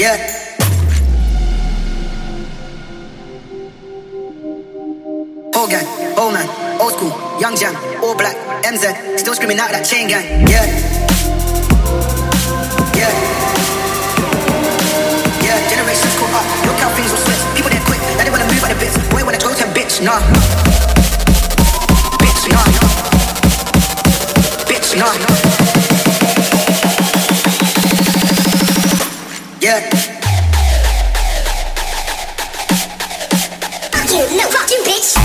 Yeah. Old gang, old man, old school, young jam, all black, MZ, still screaming out that chain gang. Yeah. Yeah. Yeah, generations caught up, look how things will switch. People they're quick, now they wanna move at the bits. Boy wanna go to bitch, nah. Bitch, nah. Bitch, nah. Yeah. Fuck you, no, fuck you, bitch.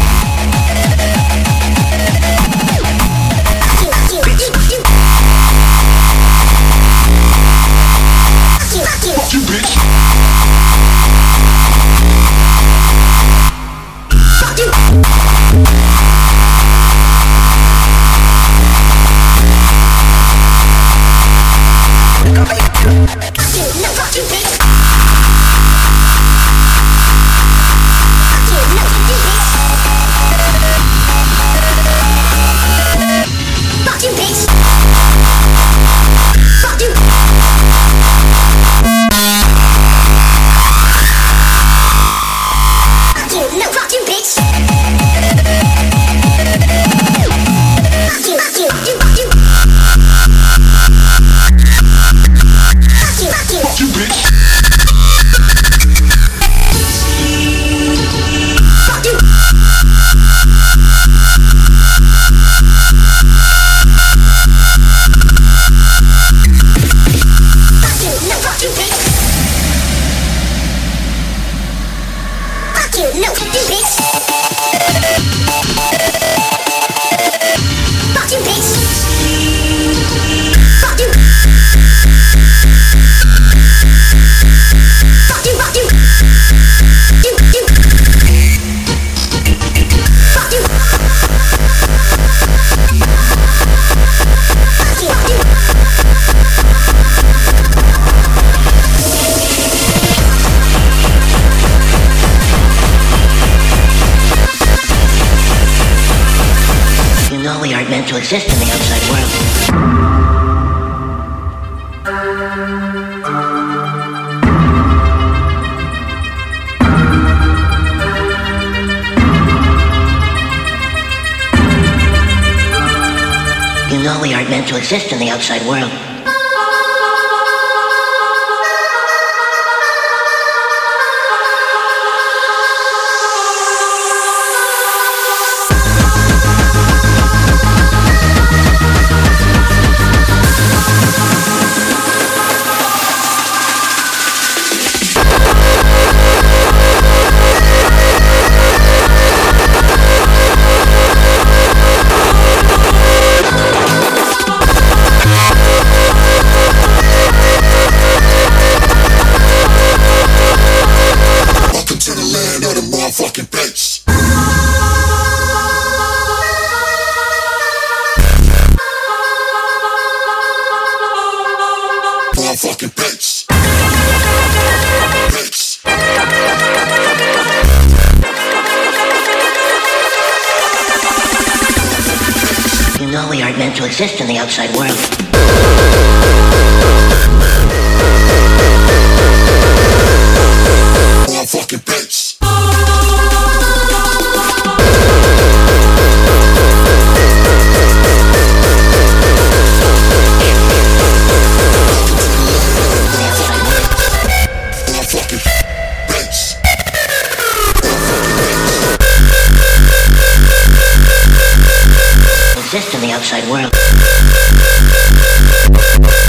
Fuck you, bitch. Fuck you. No, fuck you, bitch. Fuck you, no, fuck you, bitch. Fuck you, bitch. Fuck you. Fuck you, no, fuck you, bitch. Fuck you, fuck you, fuck you. Fuck you, bitch. Fuck you. Fuck you, no, fuck you, bitch. Fuck you, no, fuck you, bitch. Fuck you, bitch. Fuck you. Fuck you, fuck you. You. Fuck you. Fuck you, fuck you. You know we aren't meant to exist in the outside world. You know we aren't meant to exist in the outside world. Motherfucking bass. Motherfucking bass. Bass. You know we aren't meant to exist in the outside world. Motherfucking bass. Motherfucking bass. Exist in the outside world.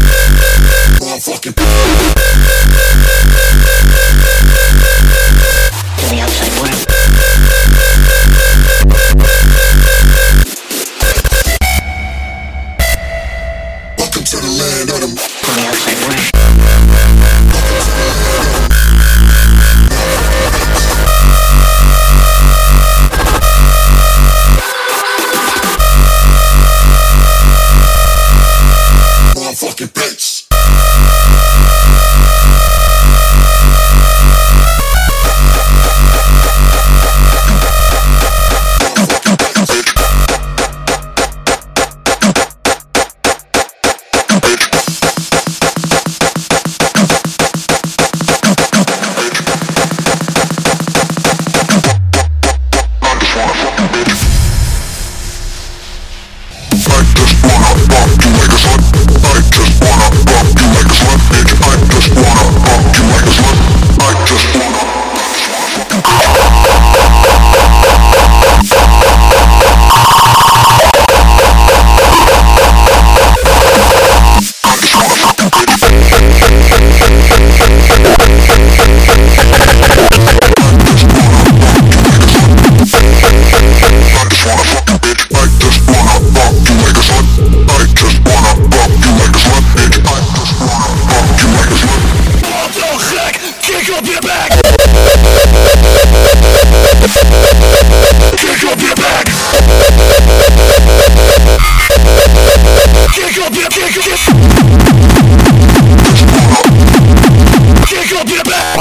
Kick up your back. Kick up your back. Kick up your back. Kick up your back.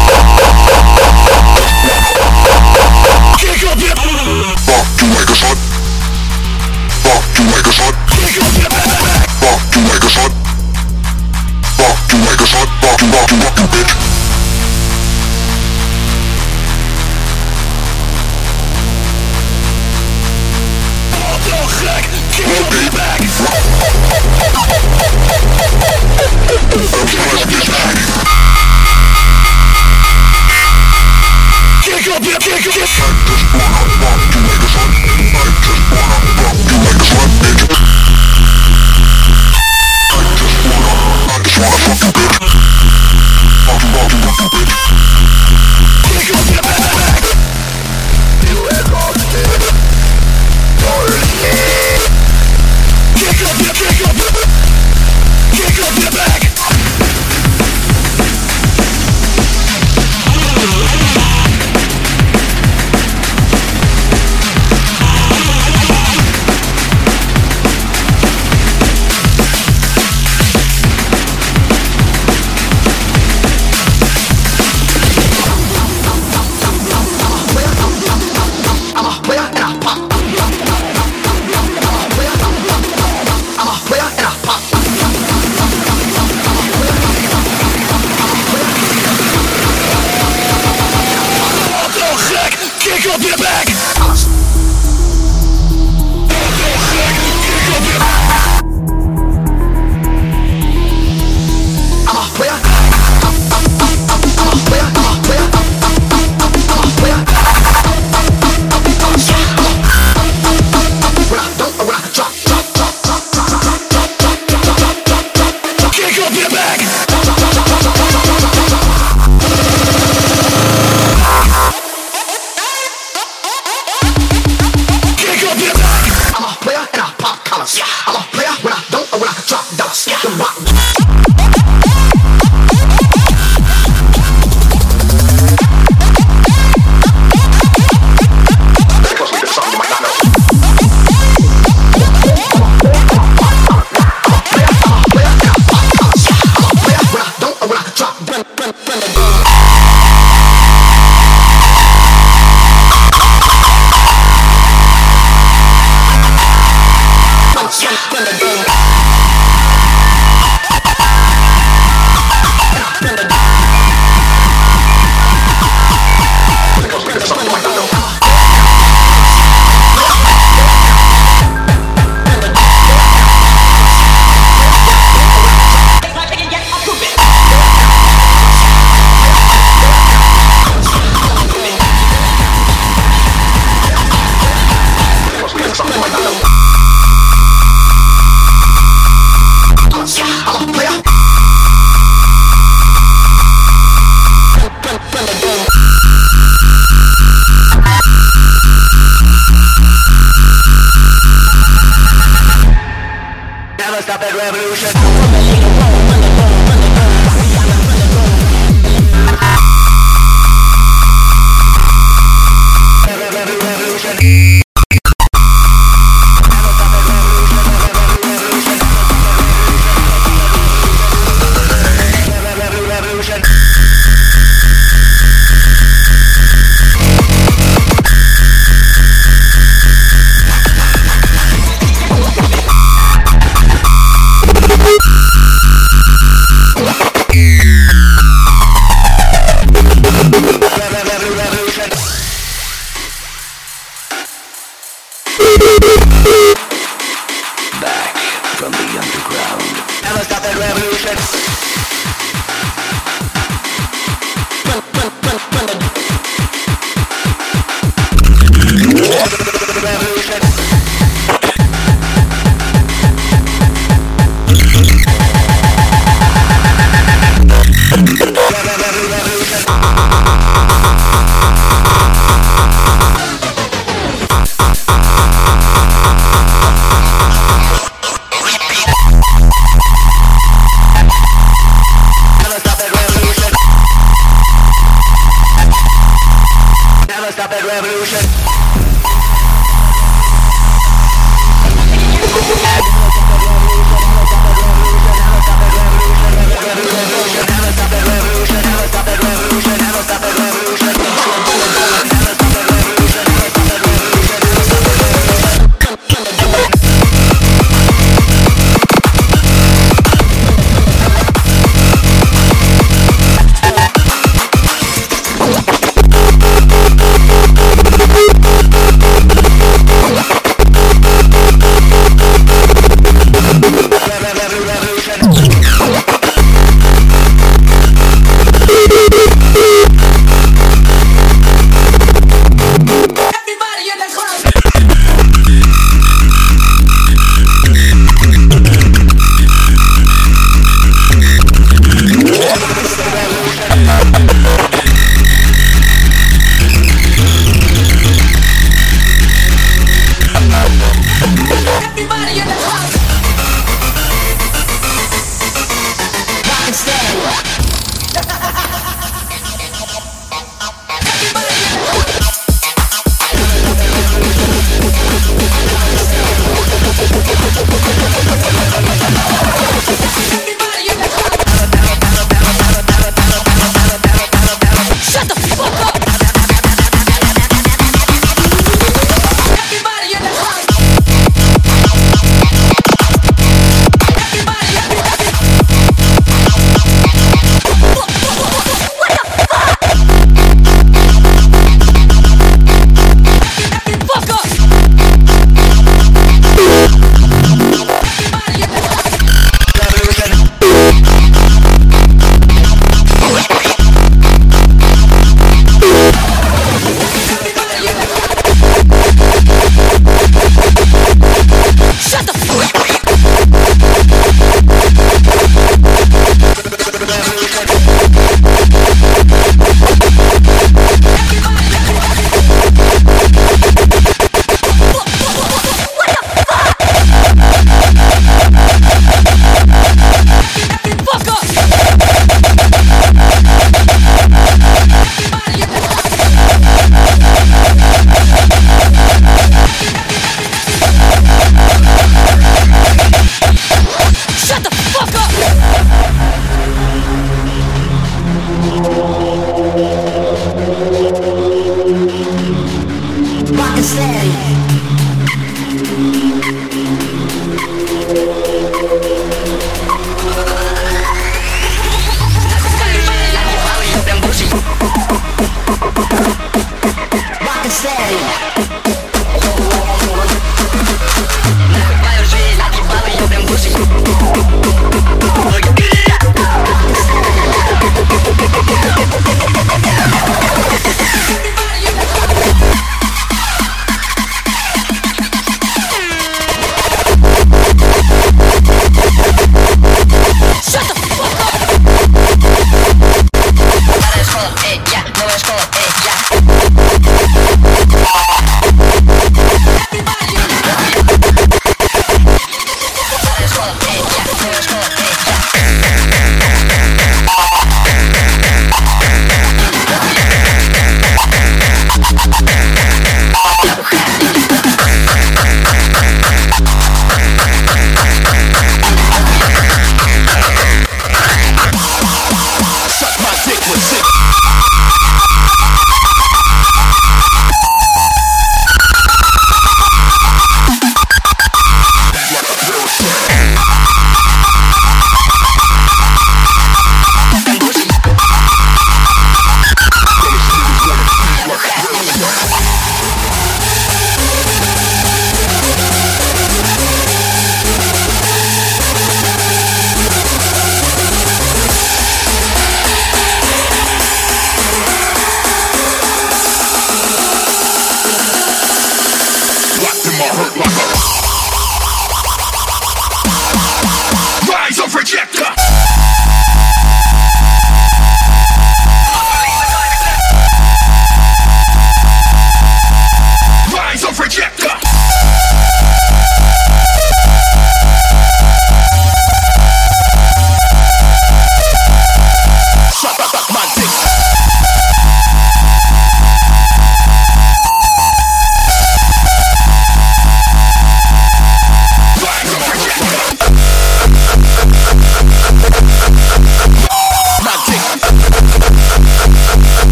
Kick up your fuck you like a son. Fuck you like a son. Kick up your back. Fuck you like a son. Fuck you like a son. Fuck you bitch. Kick up your back. I'm trying to get shitty.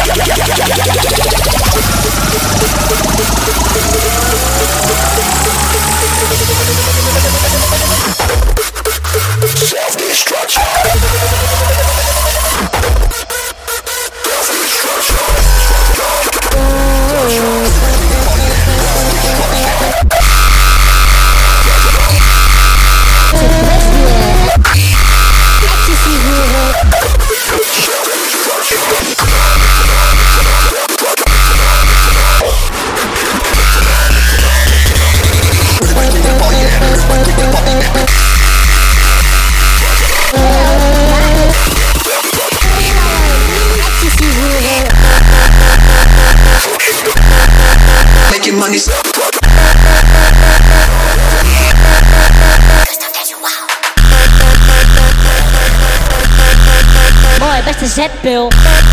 Mooi, beste zetpil.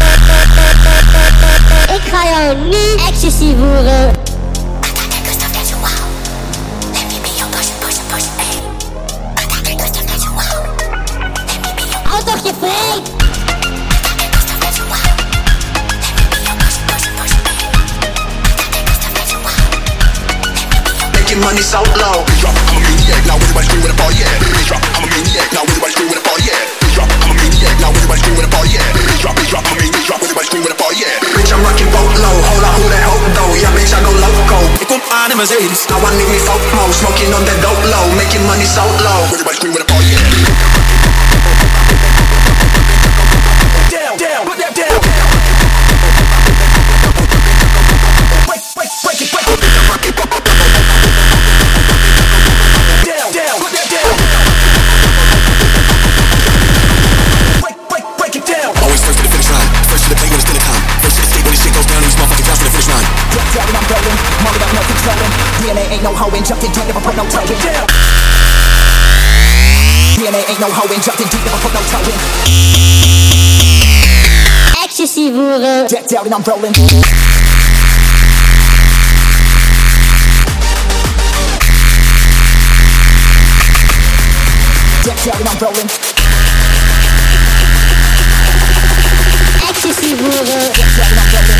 Ik ga jou nu ecstasy voeren. Hou toch je vreed. Money so low. Drop, I'm a maniac, now everybody scream with a ball, yeah. Drop, I'm a maniac, now everybody scream with a ball, yeah. Drop, I'm a maniac, now everybody scream with a ball, yeah. Drop, I'm a maniac, drop, everybody scream with a ball, yeah. Bitch, I'm rocking boat low, hold on, who that hope though? Yeah, bitch, I go loco. Ik kom aan in Mercedes. I want me FOMO, smoking on that dope low, making money so low. Everybody scream with a ball, yeah. Down, down, put that down. Break it, break it. DNA ain't no hoe injected deep, never put no toe in. DNA ain't no hoe injected deep, never put no toe in. Ecstasy voeren. Decked out and I'm rolling. Decked out and I'm rolling. Ecstasy voeren. Decked out and I'm rolling.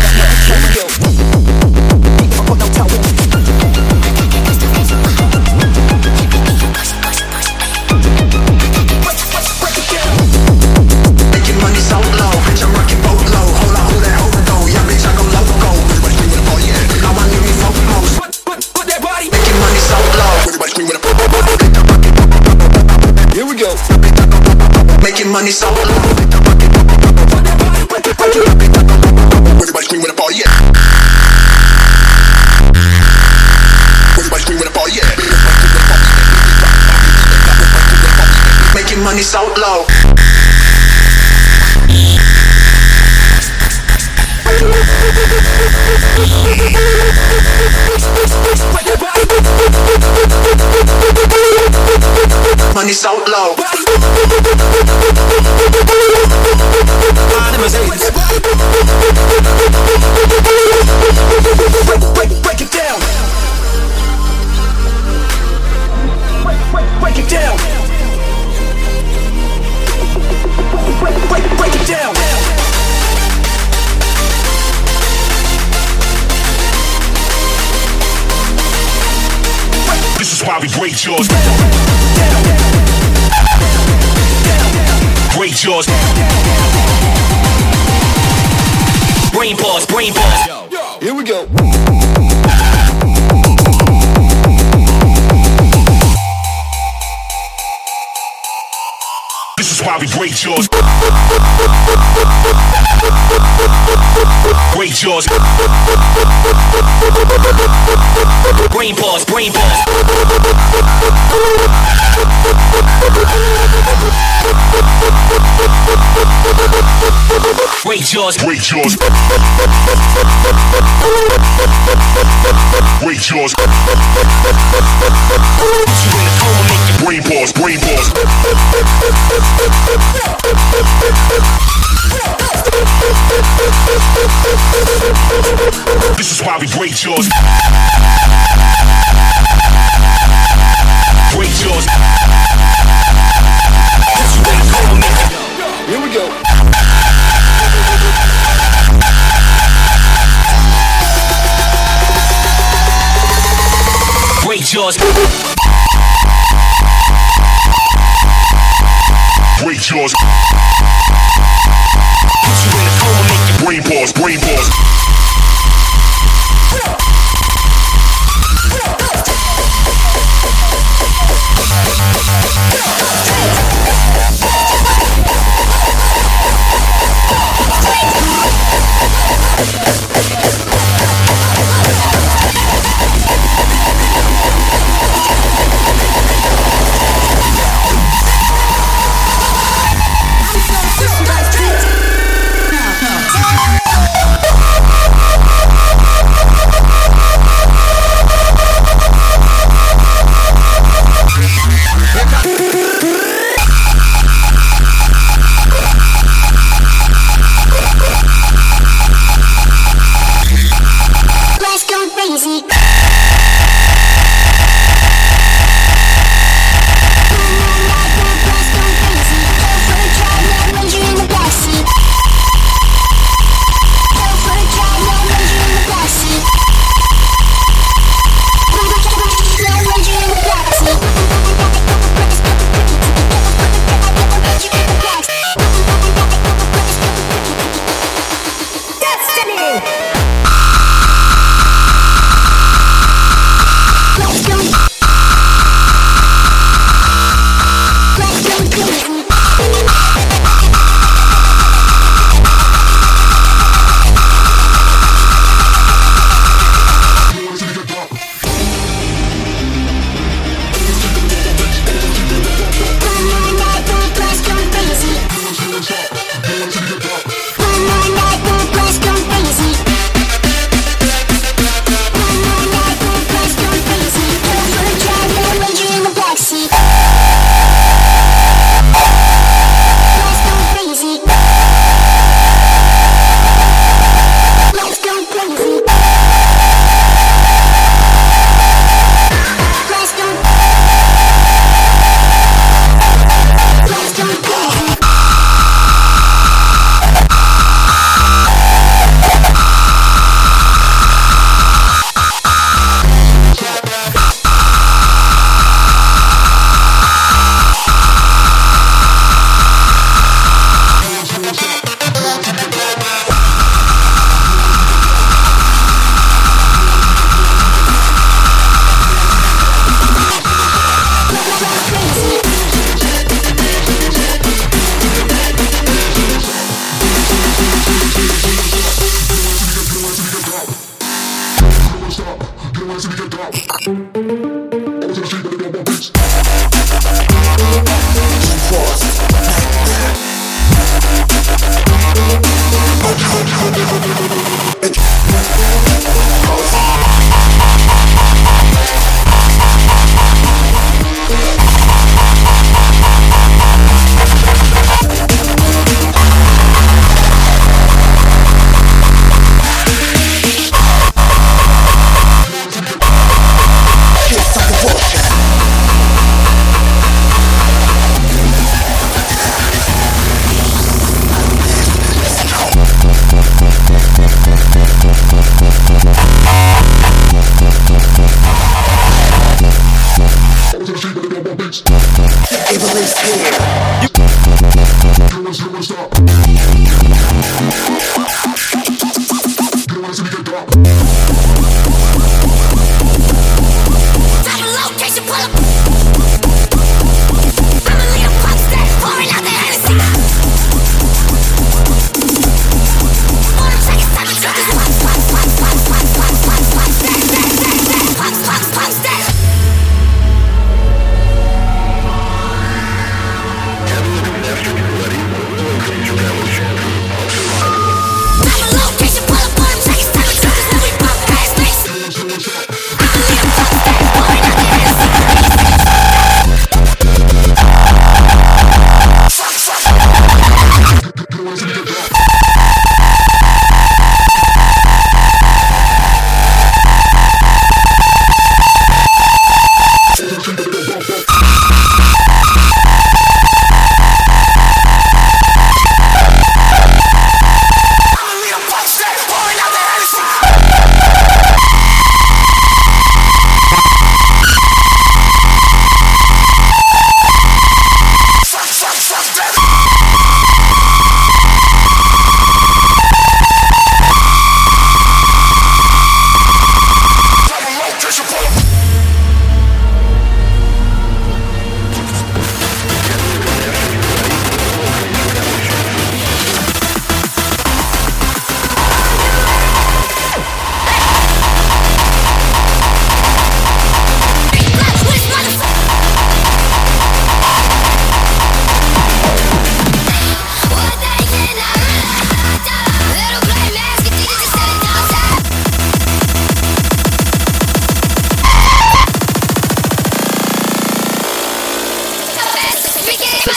Never put no toe in. Making money so low. Everybody scream with a ball, yeah. Everybody scream with a ball, yeah. Making money so low. Money so low. Break it down. Break it down. Break it down. This is why we break jaws. Break jaws. Brain pause, brain pause. Here we go. This is why we break jaws. Break jaws. Brain pause, brain pause. Break jaws, break jaws. Break jaws. Put you in a coma, make your brain pause, brain pause. This is why we break jaws. Break jaws. Put you in a coma, make your. Here we go. it's yours. Put you in a coma, make your brain pause, brain pause.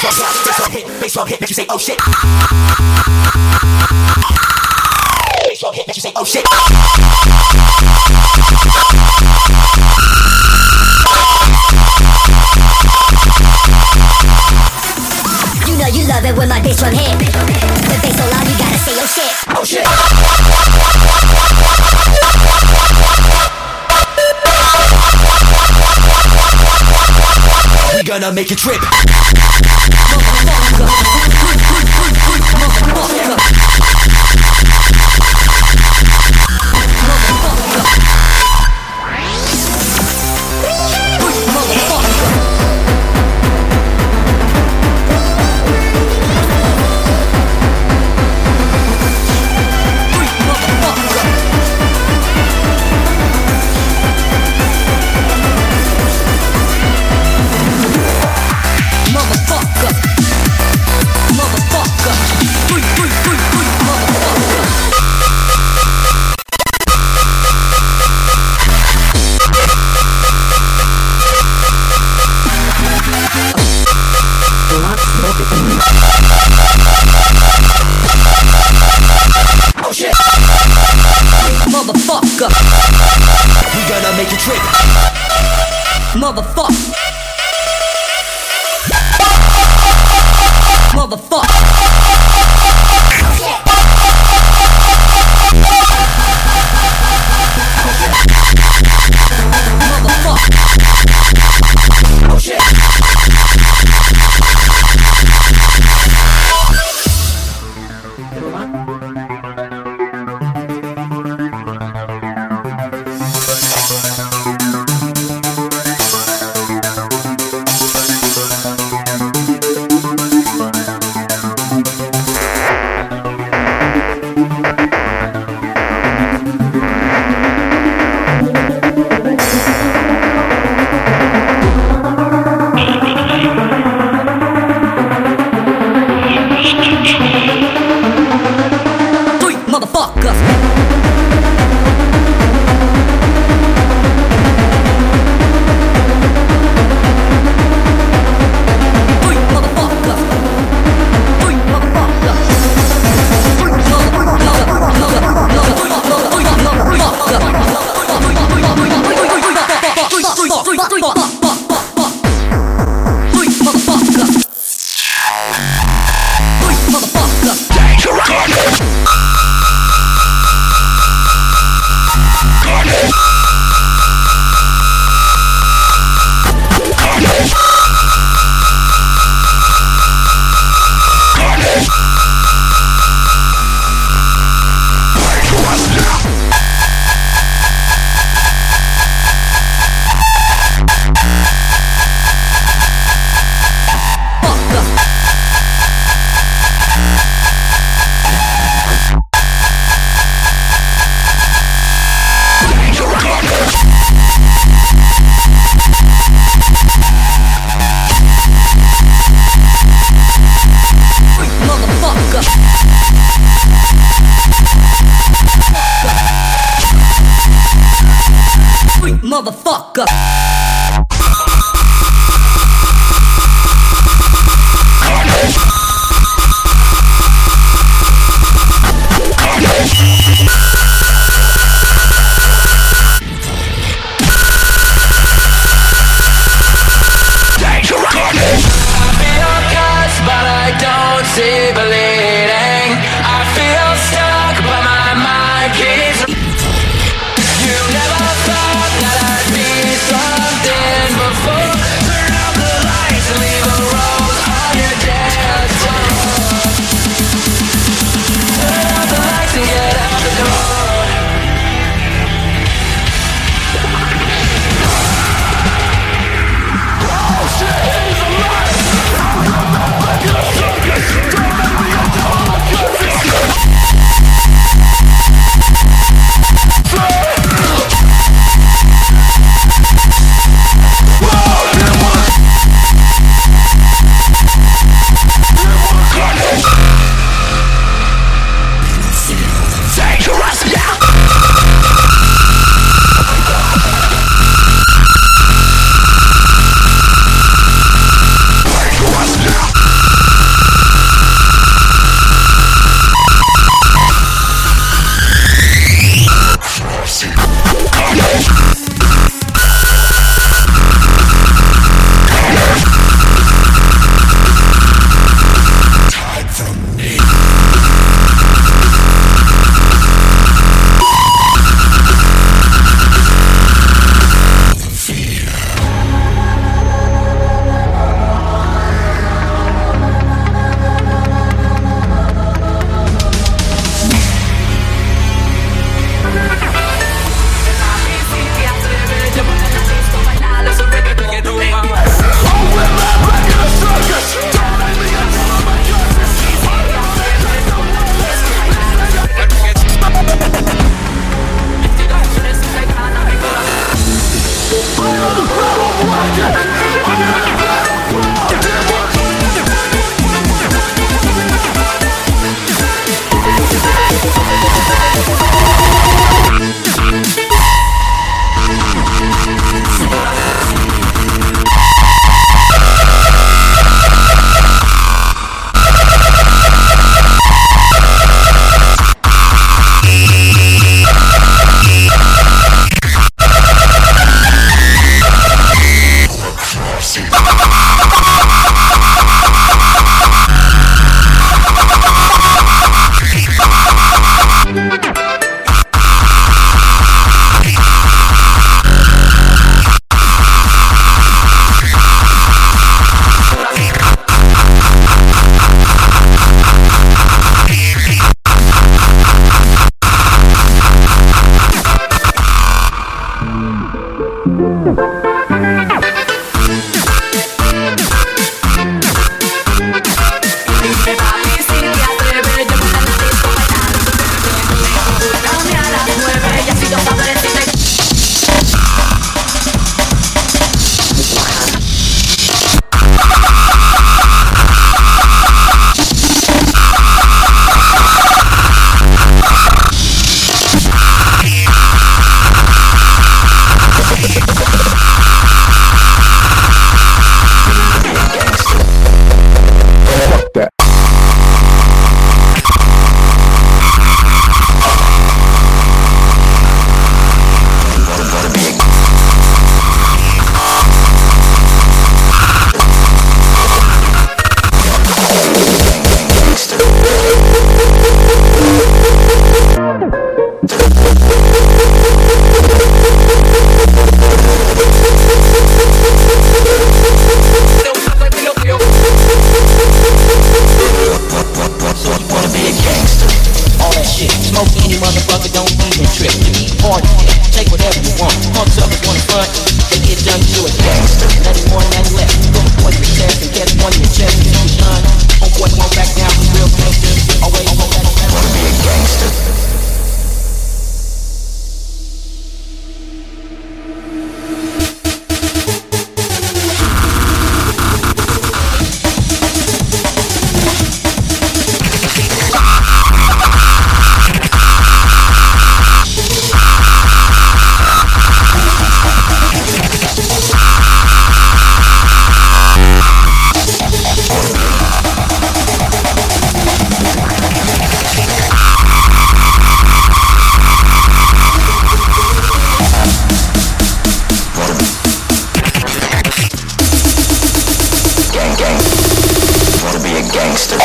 Bass drum hit, make you say oh shit. Bass drum hit, make you say oh shit. You know you love it when my bass drum hit. The bass so loud you gotta say oh shit. Oh shit. We gonna make you trip. Motherfucker, we gonna make you trip. Motherfucker, motherfucker. Oh shit. Motherfucker. See bleeding, I feel stuck, but my mind keeps. You never thought that I'd be something before. Turn out the lights and leave a rose on your dance floor. Turn out the lights and get out the door. Oh shit, he's alive! Look at the circus! Don't make me a dog! system.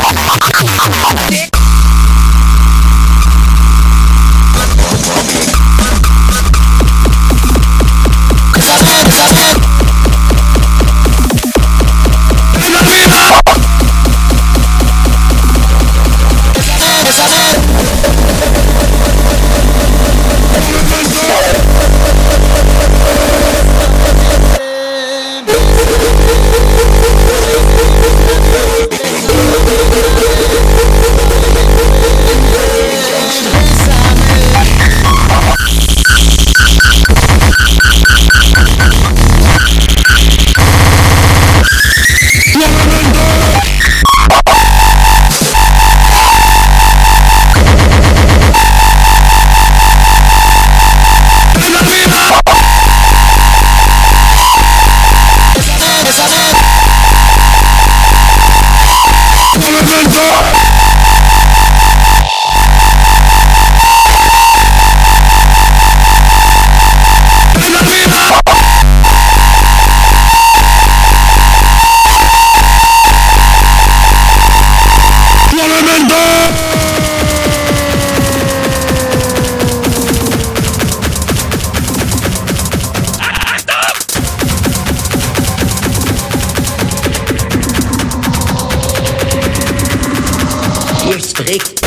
Hier spreekt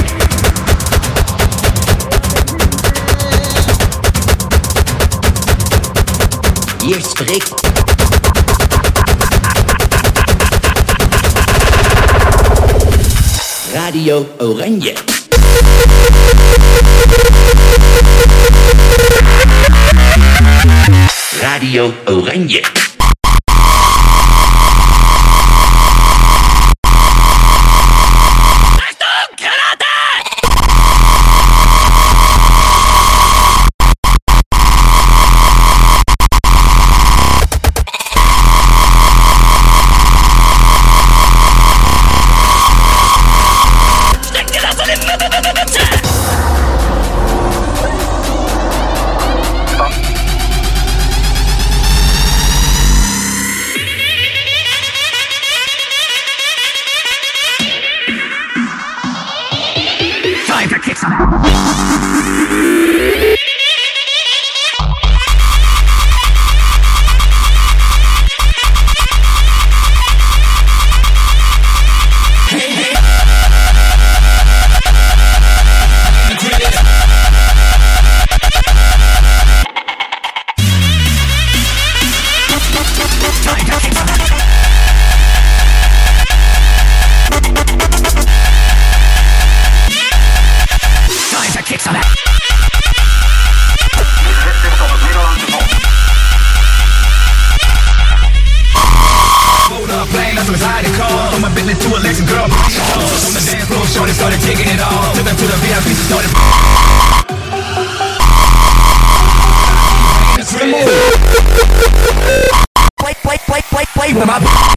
Radio Oranje. Radio Oranje. Wait, with my